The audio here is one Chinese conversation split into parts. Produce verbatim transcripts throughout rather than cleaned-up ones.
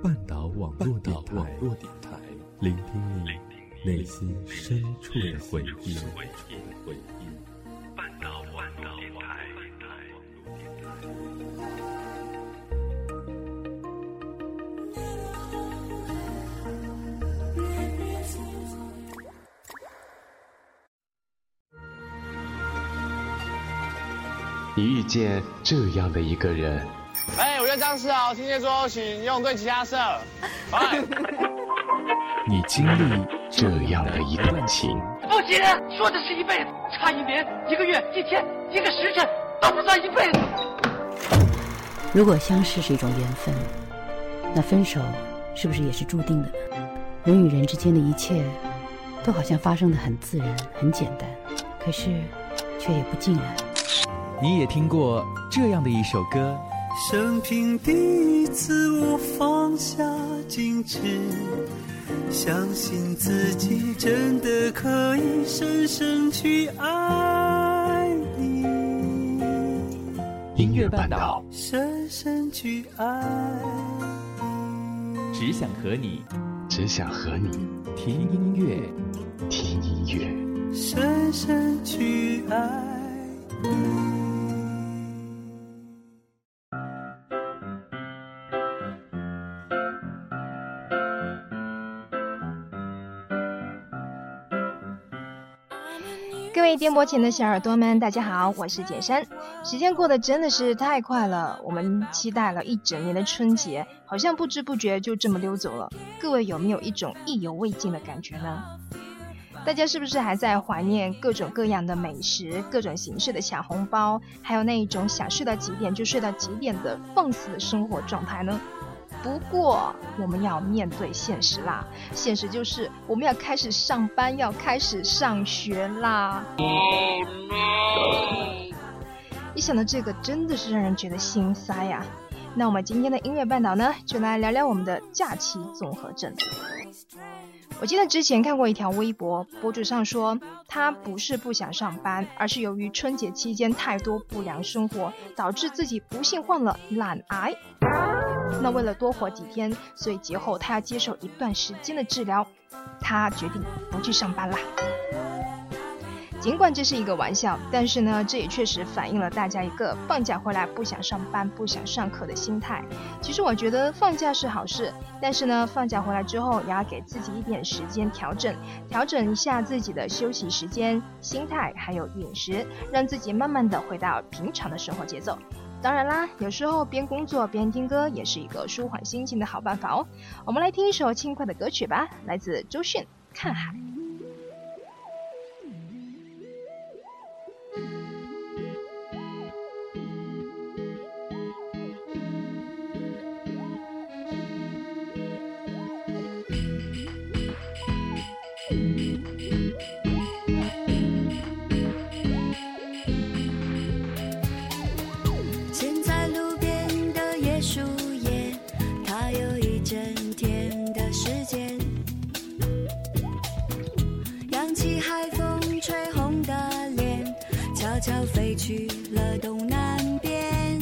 半岛网络电台，聆听你内心深处的回忆。半岛网络电台。 你遇见这样的一个人。 哎，我叫张世豪，听见说请用对吉他社。 你经历这样的一段情。 不行，说的是一辈子，差一年、一个月、一天、一个时辰都不算一辈子。 如果相识是一种缘分，那分手是不是也是注定的呢？人与人之间的一切都好像发生得很自然很简单，可是却也不尽然。 你也听过这样的一首歌， 生平第一次我放下矜持，相信自己真的可以深深去爱你。 音乐半岛， 深深去爱你， 只想和你， 只想和你听音乐， 听音乐， 深深去爱你。 各位电波前的小耳朵们，大家好，我是简山。时间过得真的是太快了，我们期待了一整年的春节，好像不知不觉就这么溜走了。各位有没有一种意犹未尽的感觉呢？大家是不是还在怀念各种各样的美食，各种形式的抢红包，还有那一种想睡到几点就睡到几点的放肆的生活状态呢？不过我们要面对现实啦，现实就是我们要开始上班，要开始上学啦。一想到这个真的是让人觉得心塞呀、啊。那我们今天的音乐半岛呢，就来聊聊我们的假期综合症。我记得之前看过一条微博，博主上说他不是不想上班，而是由于春节期间太多不良生活，导致自己不幸患了懒癌。那为了多活几天，所以节后他要接受一段时间的治疗，他决定不去上班啦。尽管这是一个玩笑，但是呢，这也确实反映了大家一个放假回来不想上班、不想上课的心态。其实我觉得放假是好事，但是呢，放假回来之后也要给自己一点时间调整，调整一下自己的休息时间、心态还有饮食，让自己慢慢的回到平常的生活节奏。当然啦，有时候边工作边听歌也是一个舒缓心情的好办法哦。我们来听一首轻快的歌曲吧，来自周迅《看海》。 悄飞去了东南边，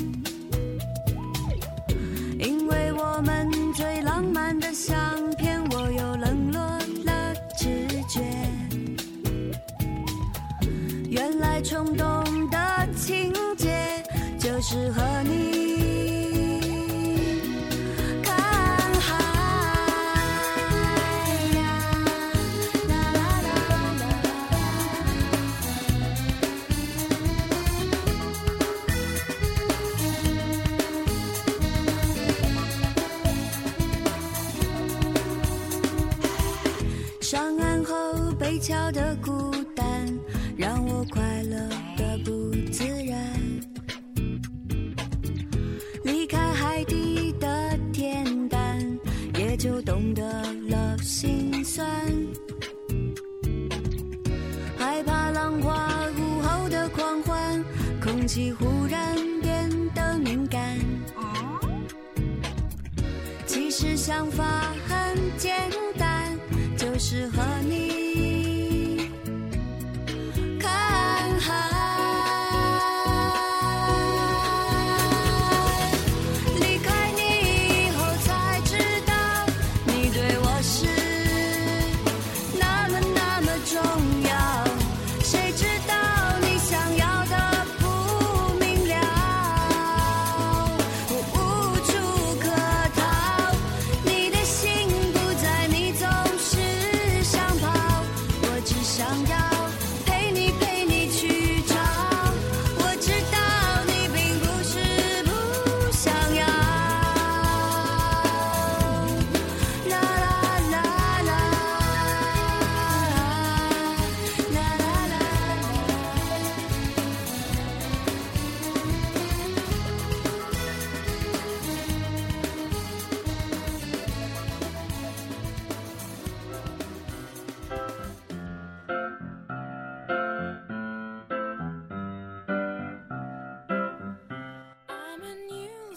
因为我们最浪漫的相片，我又冷落了直觉。原来冲动的情节就是和你桥的孤单让我快乐的不自然，离开海底的恬淡，也就懂得了心酸，害怕浪花午后的狂欢，空气忽然变得敏感，其实想法很简单，就是和你离开你以后才知道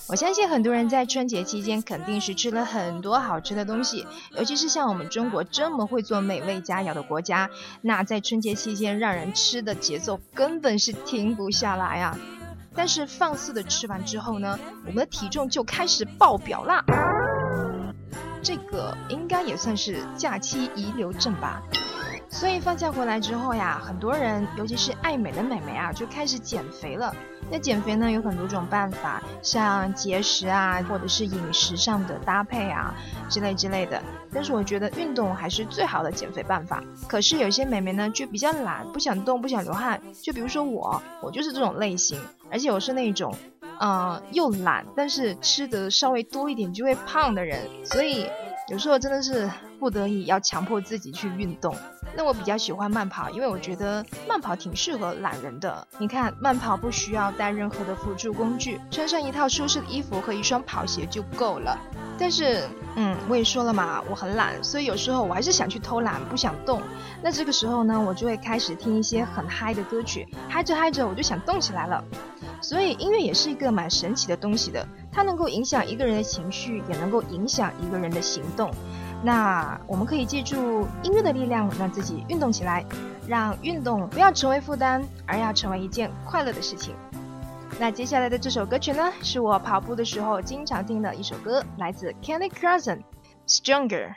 我相信很多人在春节期间肯定是吃了很多好吃的东西，尤其是像我们中国这么会做美味佳肴的国家，那在春节期间让人吃的节奏根本是停不下来啊。但是放肆的吃完之后呢，我们的体重就开始爆表啦。这个应该也算是假期遗留症吧。所以放假回来之后呀，很多人尤其是爱美的美眉啊，就开始减肥了。那减肥呢有很多种办法，像节食啊，或者是饮食上的搭配啊之类之类的。但是我觉得运动还是最好的减肥办法。可是有些美眉呢就比较懒，不想动，不想流汗。就比如说我，我就是这种类型，而且我是那种呃又懒，但是吃的稍微多一点就会胖的人。所以有时候真的是不得已要强迫自己去运动。那我比较喜欢慢跑，因为我觉得慢跑挺适合懒人的。你看，慢跑不需要带任何的辅助工具，穿上一套舒适的衣服和一双跑鞋就够了。但是嗯，我也说了嘛，我很懒，所以有时候我还是想去偷懒，不想动。那这个时候呢，我就会开始听一些很嗨的歌曲，嗨着嗨着我就想动起来了。所以音乐也是一个蛮神奇的东西的，它能够影响一个人的情绪，也能够影响一个人的行动。那我们可以借助音乐的力量，让自己运动起来，让运动不要成为负担，而要成为一件快乐的事情。那接下来的这首歌曲呢，是我跑步的时候经常听的一首歌，来自 Kelly Clarkson Stronger。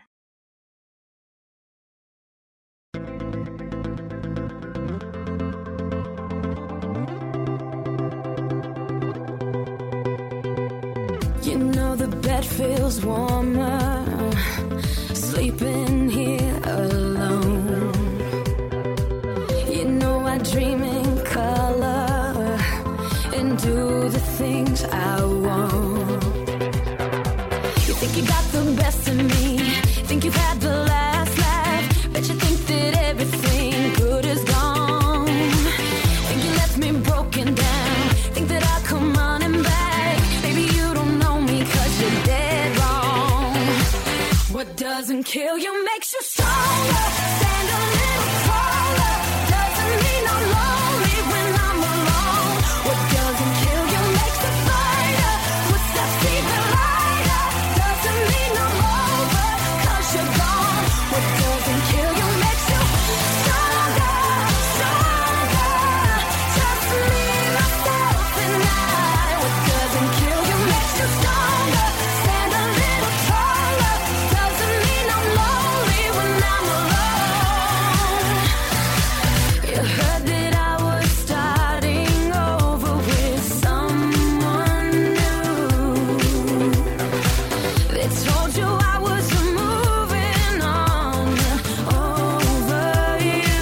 You know the bed feels warmer sleeping here alone. You know I dream in color and do the things I want. You think you got the best of me, think you've had the last laugh, bet you think that everything good is gone. Think you left me broken down, think that I'll come running back. Maybe you don't know me 'cause you're dead wrong. What doesn't kill you makes you stronger. Stand a little taller. Doesn't mean I'm lonely when I'm alone. What doesn't kill you makes a fighter. Footsteps even lighter. Doesn't mean I'm over 'cause you're gone. What doesn't kill you makes you stronger, stronger. Just me, myself, and I. What doesn't kill you makes you stronger. Stand a little taller. Doesn't mean I'm lonely when I'm alone. You heard that I was starting over with someone new. They told you I was moving on over you.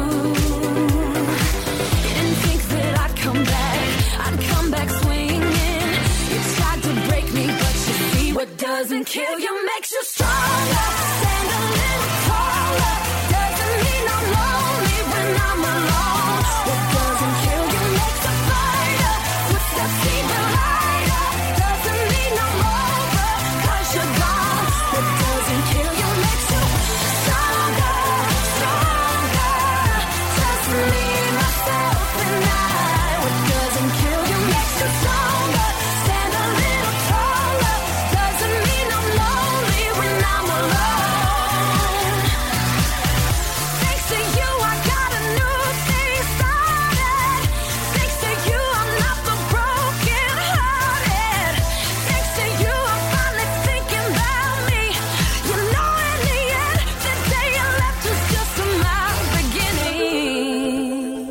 You didn't think that I'd come back, I'd come back swinging. You tried to break me, but you see what doesn't kill you makes you stronger. Stand a little taller. Doesn't mean I'm lonely when I'm alone. What doesn't kill you makes a fighter. Footsteps even lighter. Doesn't mean I'm over 'cause you're gone. What doesn't kill you makes you stronger, stronger. Just me, myself, and I. What doesn't kill you makes you stronger. Stand a little taller. Doesn't mean I'm lonely when I'm alone. Thanks to you, I got a new thing started. Thanks to you, I'm not the broken hearted. Thanks to you, I'm finally thinking about me. You know, in the end, the day you left was just my beginning.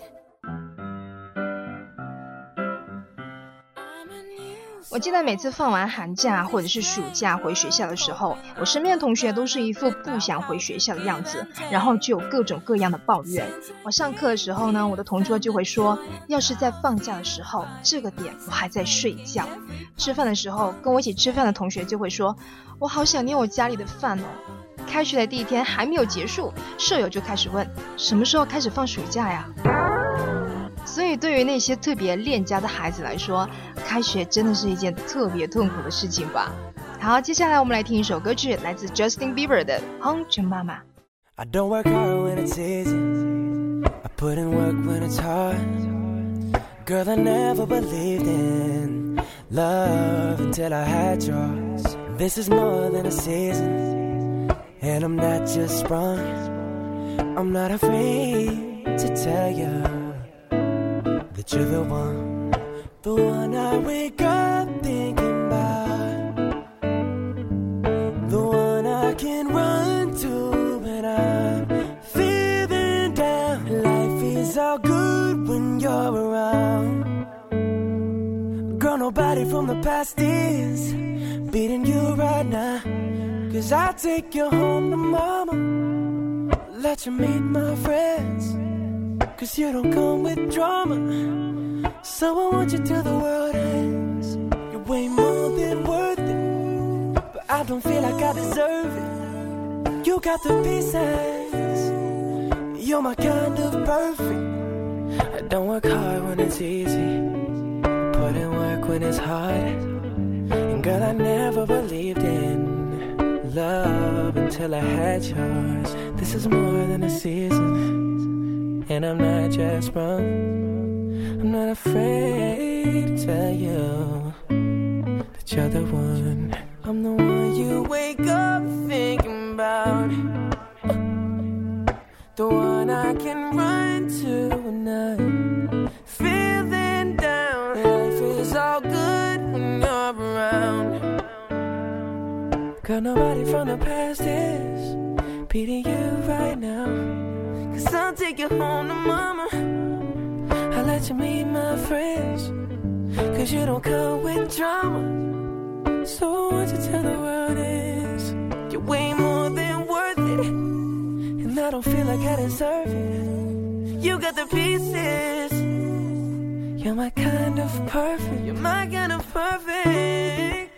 我记得每次放完寒假或者是暑假回学校的时候，我身边的同学都是一副不想回学校的样子，然后就有各种各样的抱怨。我上课的时候呢，我的同桌就会说，要是在放假的时候这个点我还在睡觉。吃饭的时候跟我一起吃饭的同学就会说，我好想念我家里的饭哦。开学的第一天还没有结束，舍友就开始问，什么时候开始放暑假呀？所以对于那些特别恋家的孩子来说，开学真的是一件特别痛苦的事情吧。好，接下来我们来听一首歌曲，来自 Justin Bieber 的 Home to Mama。 I don't work hard when it's easy, I put in work when it's hard. Girl, I never believed in love until I had yours. This is more than a season, and I'm not just sprung. I'm not afraid to tell you that you're the one, the one I wake up thinking about, the one I can run to when I'm feeling down. Life is all good when you're around. Girl, nobody from the past is beating you right now. Cause I'll take you home to mama, let you meet my friends. Cause you don't come with drama, so I want you till the world ends. You're way more than worth it, but I don't feel like I deserve it. You got the pieces, you're my kind of perfect. I don't work hard when it's easy, put in work when it's hard. And girl, I never believed in love until I had yours. This is more than a season, and I'm not just wrong. I'm not afraid to tell you that you're the one. I'm the one you wake up thinking about, the one I can run to when I'm feeling down. Life is all good when you're around. Girl, nobody from the past is beating you right now. Cause I'll take you home to mama, I'll let you meet my friends. Cause you don't come with drama, so I want you to tell the world is you're way more than worth it, and I don't feel like I deserve it. You got the pieces, you're my kind of perfect. You're my kind of perfect.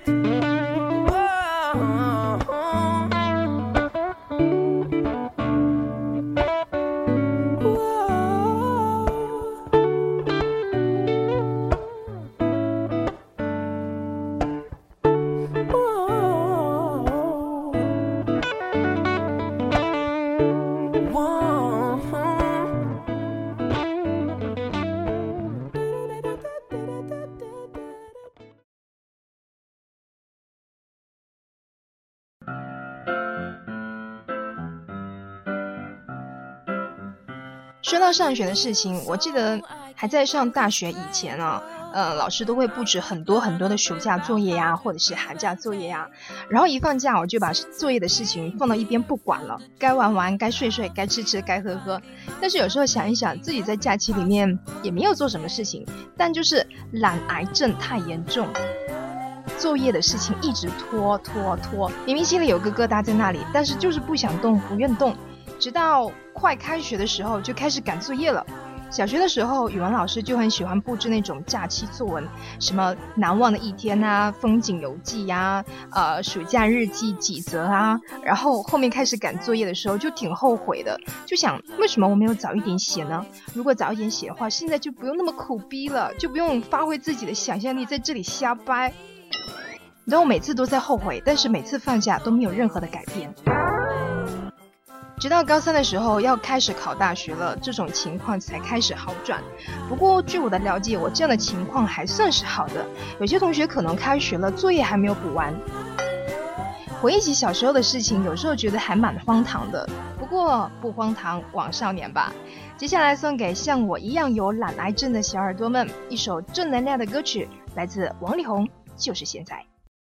说到上学的事情，我记得还在上大学以前啊，呃，老师都会布置很多很多的暑假作业呀，或者是寒假作业呀。然后一放假，我就把作业的事情放到一边不管了，该玩玩，该睡睡，该吃吃，该喝喝。但是有时候想一想，自己在假期里面也没有做什么事情，但就是懒癌症太严重，作业的事情一直拖拖拖，明明心里有个疙瘩在那里，但是就是不想动，不愿动。直到快开学的时候就开始赶作业了。小学的时候，语文老师就很喜欢布置那种假期作文，什么难忘的一天啊，风景游记呀、啊，呃，暑假日记几则啊。然后后面开始赶作业的时候，就挺后悔的，就想为什么我没有早一点写呢？如果早一点写的话，现在就不用那么苦逼了，就不用发挥自己的想象力在这里瞎掰。然后我每次都在后悔，但是每次放假都没有任何的改变。直到高三的时候要开始考大学了，这种情况才开始好转。不过据我的了解，我这样的情况还算是好的，有些同学可能开学了，作业还没有补完。回忆起小时候的事情，有时候觉得还蛮荒唐的，不过不荒唐枉少年吧。接下来送给像我一样有懒癌症的小耳朵们一首正能量的歌曲，来自王力宏，就是现在。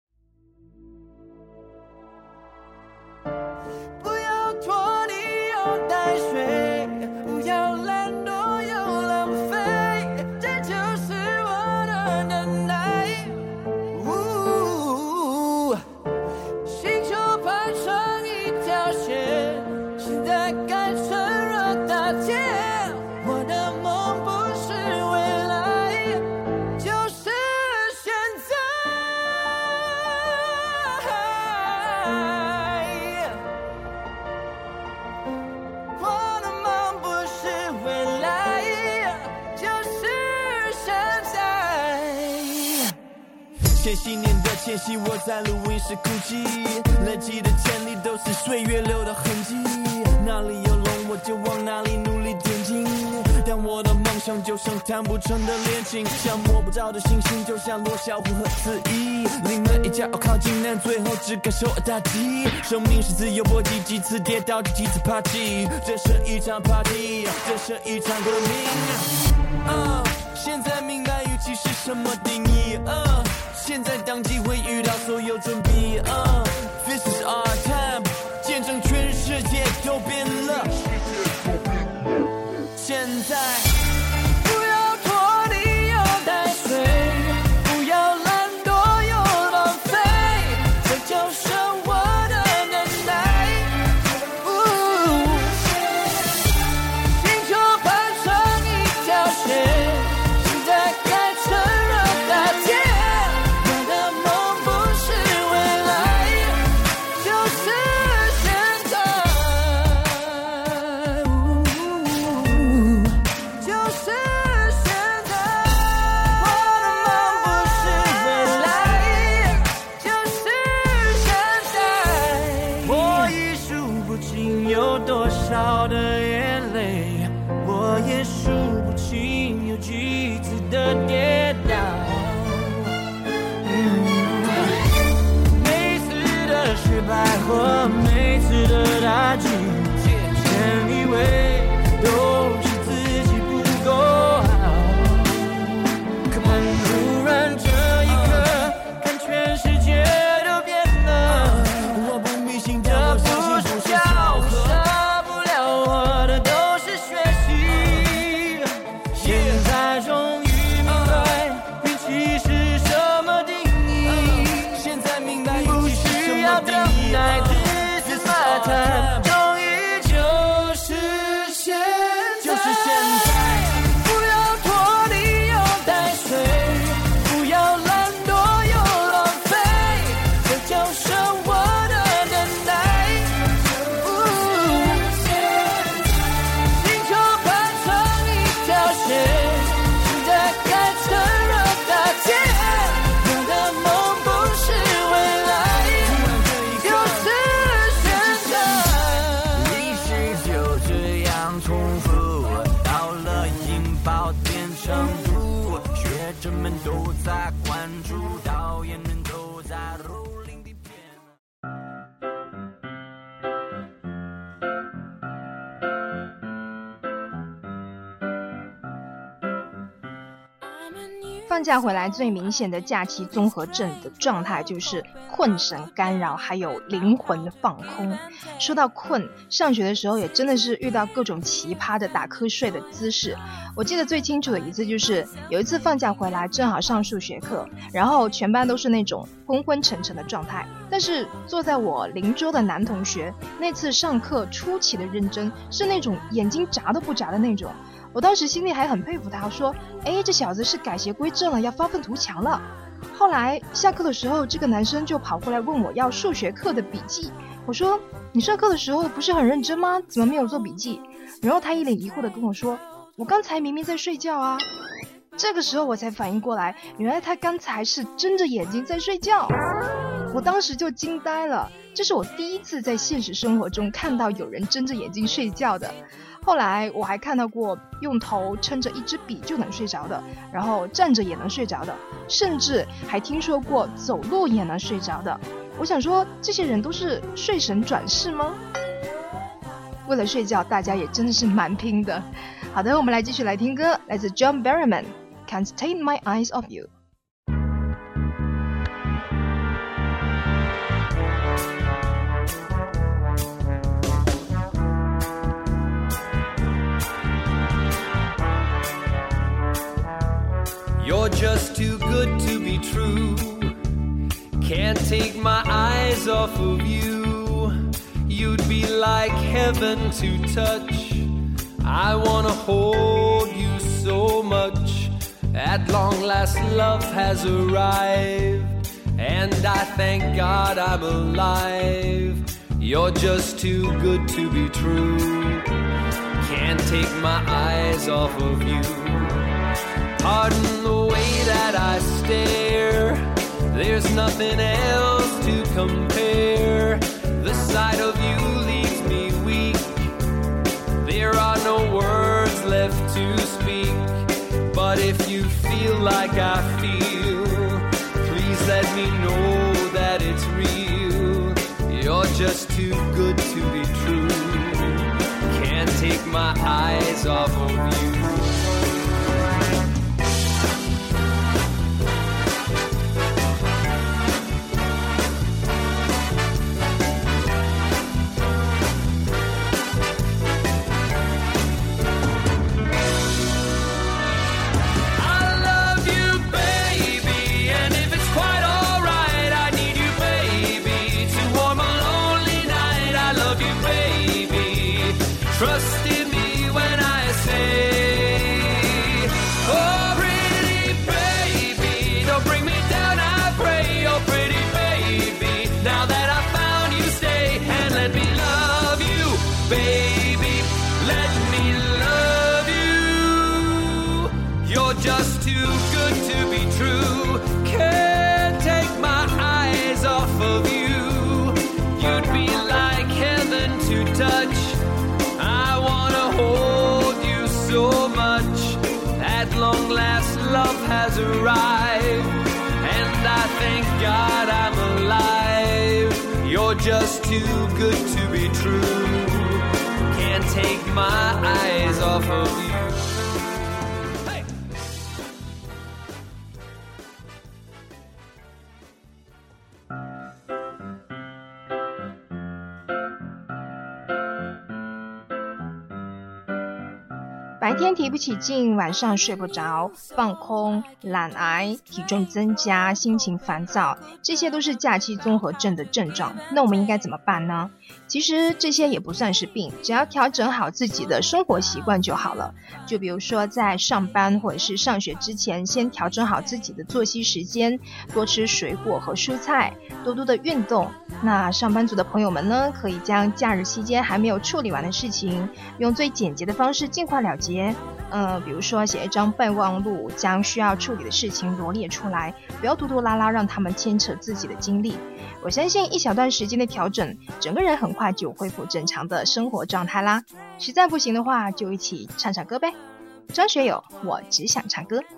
带水，不要懒惰又浪费，这就是我的能耐。星球排成一条线，现在改成了大天。我的梦不是未来，就是现在。 千禧年的前夕，我在录音室哭泣，累积的潜力都是岁月留的痕迹，哪里有龙我就往哪里努力前进， 但我的梦想就像弹不成的恋情，像摸不着的星星，就像罗小虎和子怡，临门一脚靠近，但最后只感受打击。生命是自由搏击，几次跌倒就几次爬起，这是一场 party， 这是一场革命。uh, 现在明白预期是什么定义。uh, 现在当机会遇到所有准备。uh, This is our time， 见证全世界都变了。现在不要拖泥又带水，不要懒惰又浪费，这就是我的能耐。星球盘成一条线，现在该趁热打铁。我的梦不是未来，就是现在。就是现在，我的梦不是未来，就是现在。我已数不清有多少的眼泪，我也数不清有几次的跌倒。嗯、每次的失败或每次的打击，先以为都是自己不够好，但突然这一刻，看全世界都变了。 我不迷信， 这不是巧合，少不了我的都是学习。现在终于明白运气是什么定义， 现在明白不运气是什需要等么定义。 待，This is my time， 终于就是现在，就是现在。不要拖泥又带水，不要懒惰又浪费，这就是我的能耐。星球盘成一条线，现在该趁热打铁。我的梦不是未来，就是现在。历史就这样重复，到了引爆点程度，学者们都在关注，导演们都在蹂躏底片。 放假回来最明显的假期综合症的状态就是困神干扰，还有灵魂放空。说到困，上学的时候也真的是遇到各种奇葩的打瞌睡的姿势。我记得最清楚的一次就是有一次放假回来，正好上数学课，然后全班都是那种昏昏沉沉的状态，但是坐在我邻桌的男同学那次上课出奇的认真，是那种眼睛眨都不眨的那种。我当时心里还很佩服他，说哎，这小子是改邪归正了，要发愤图强了。后来下课的时候，这个男生就跑过来问我要数学课的笔记。我说你上课的时候不是很认真吗？怎么没有做笔记？然后他一脸疑惑的跟我说，我刚才明明在睡觉啊。这个时候我才反应过来，原来他刚才是睁着眼睛在睡觉。我当时就惊呆了，这是我第一次在现实生活中看到有人睁着眼睛睡觉的。后来我还看到过用头撑着一支笔就能睡着的，然后站着也能睡着的，甚至还听说过走路也能睡着的。我想说，这些人都是睡神转世吗？为了睡觉，大家也真的是蛮拼的。好的，我们来继续来听歌，来自 John Berryman， Can't Take My Eyes Off You。 You're just too good to be true. Can't take my eyes off of you. You'd be like heaven to touch. I wanna hold you so much. At long last love has arrived, and I thank God I'm alive. You're just too good to be true. Can't take my eyes off of you.Pardon the way that I stare. There's nothing else to compare. The sight of you leaves me weak. There are no words left to if you feel like I feel, please let me know that it's real. You're just too good to be true. Can't take my eyes off of you. Trust in me when I say, oh pretty baby, don't bring me down, I pray. Oh pretty baby, now that I found you, stay and let me love you, baby, let me love you. You're just too good to be true. Can't take my eyes off of you. You'd be like heaven to touch. I wanna hold you so much. At long last love has arrived, and I thank God I'm alive. You're just too good to be true. Can't take my eyes off of you. Hey! 白天提不起劲，晚上睡不着，放空、懒癌、体重增加、心情烦躁，这些都是假期综合症的症状。那我们应该怎么办呢？其实这些也不算是病，只要调整好自己的生活习惯就好了。就比如说在上班或者是上学之前，先调整好自己的作息时间，多吃水果和蔬菜，多多的运动。那上班族的朋友们呢，可以将假日期间还没有处理完的事情，用最简洁的方式尽快了结。呃，比如说写一张备忘录，将需要处理的事情罗列出来，不要拖拖拉拉让他们牵扯自己的精力。我相信一小段时间的调整，整个人很快就恢复正常的生活状态啦。实在不行的话，就一起唱唱歌呗。张学友，我只想唱歌。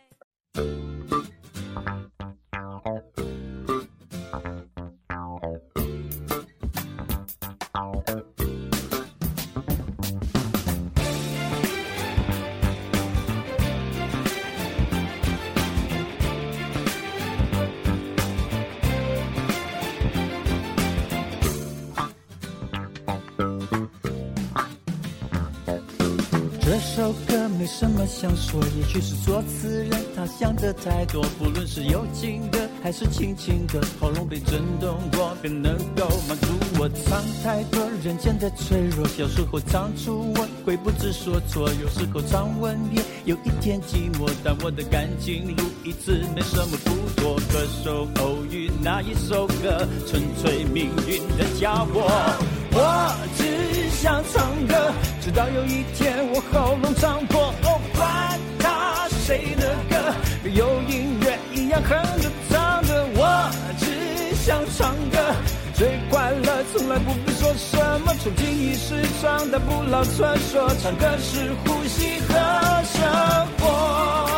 这首歌没什么想说，也许是作词人他想的太多，不论是有情的还是轻轻的，喉咙被震动过便能够满足我。藏太多人间的脆弱，小时候常初吻会不知所措，有时候常吻也有一天寂寞，但我的感情路一直没什么不妥。歌手偶遇那一首歌，纯粹命运的教我，我只想唱歌，直到有一天我喉咙唱破。哦，管他谁的歌，有音乐一样哼着唱着，我只想唱歌，最快乐从来不必说什么，从今一时唱的不老传说，唱歌是呼吸和生活。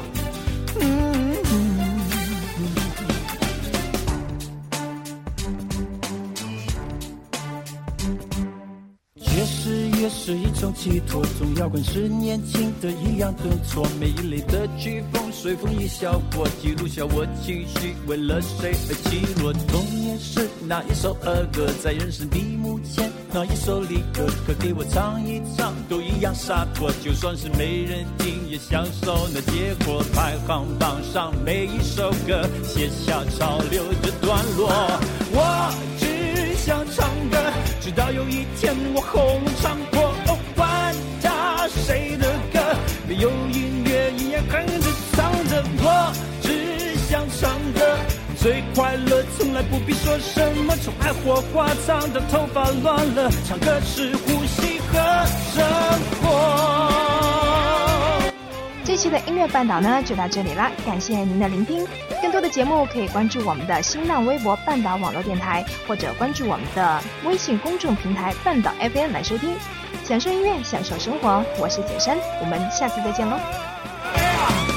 爵士乐是一种寄托，总摇滚是年轻的一样顿挫，每一类的曲风随风一笑过，记录下我情绪为了谁而起落。童年是那一首儿歌，在人生闭幕前那一首离歌，可给我唱一唱都一样洒脱，就算是没人听也享受那结果。排行榜上每一首歌写下潮流的段落，我只想唱歌，直到有一天我喉咙唱破。哦，管他谁的歌，有音乐一样哼着唱着，我只想唱歌，最快乐从来不必说什么，从爱火花唱到头发乱了，唱歌是呼吸和生活。 这期的音乐半岛呢就到这里啦，感谢您的聆听。更多的节目可以关注我们的新浪微博半岛网络电台，或者关注我们的微信公众平台半岛 F M 来收听。享受音乐，享受生活，我是简山，我们下次再见喽。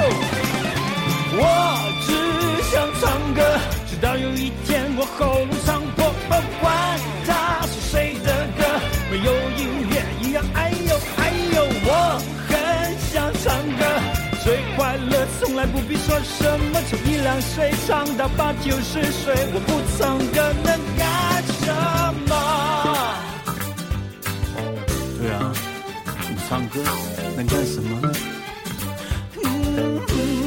我只想唱歌，直到有一天我喉咙伤破，不管它是谁的歌，没有音乐一样哎呦哎呦。我很想唱歌，最快乐从来不必说什么，从一两岁唱到八九十岁，我不唱歌能干什么？哦，对啊，不唱歌能干什么呢？嗯嗯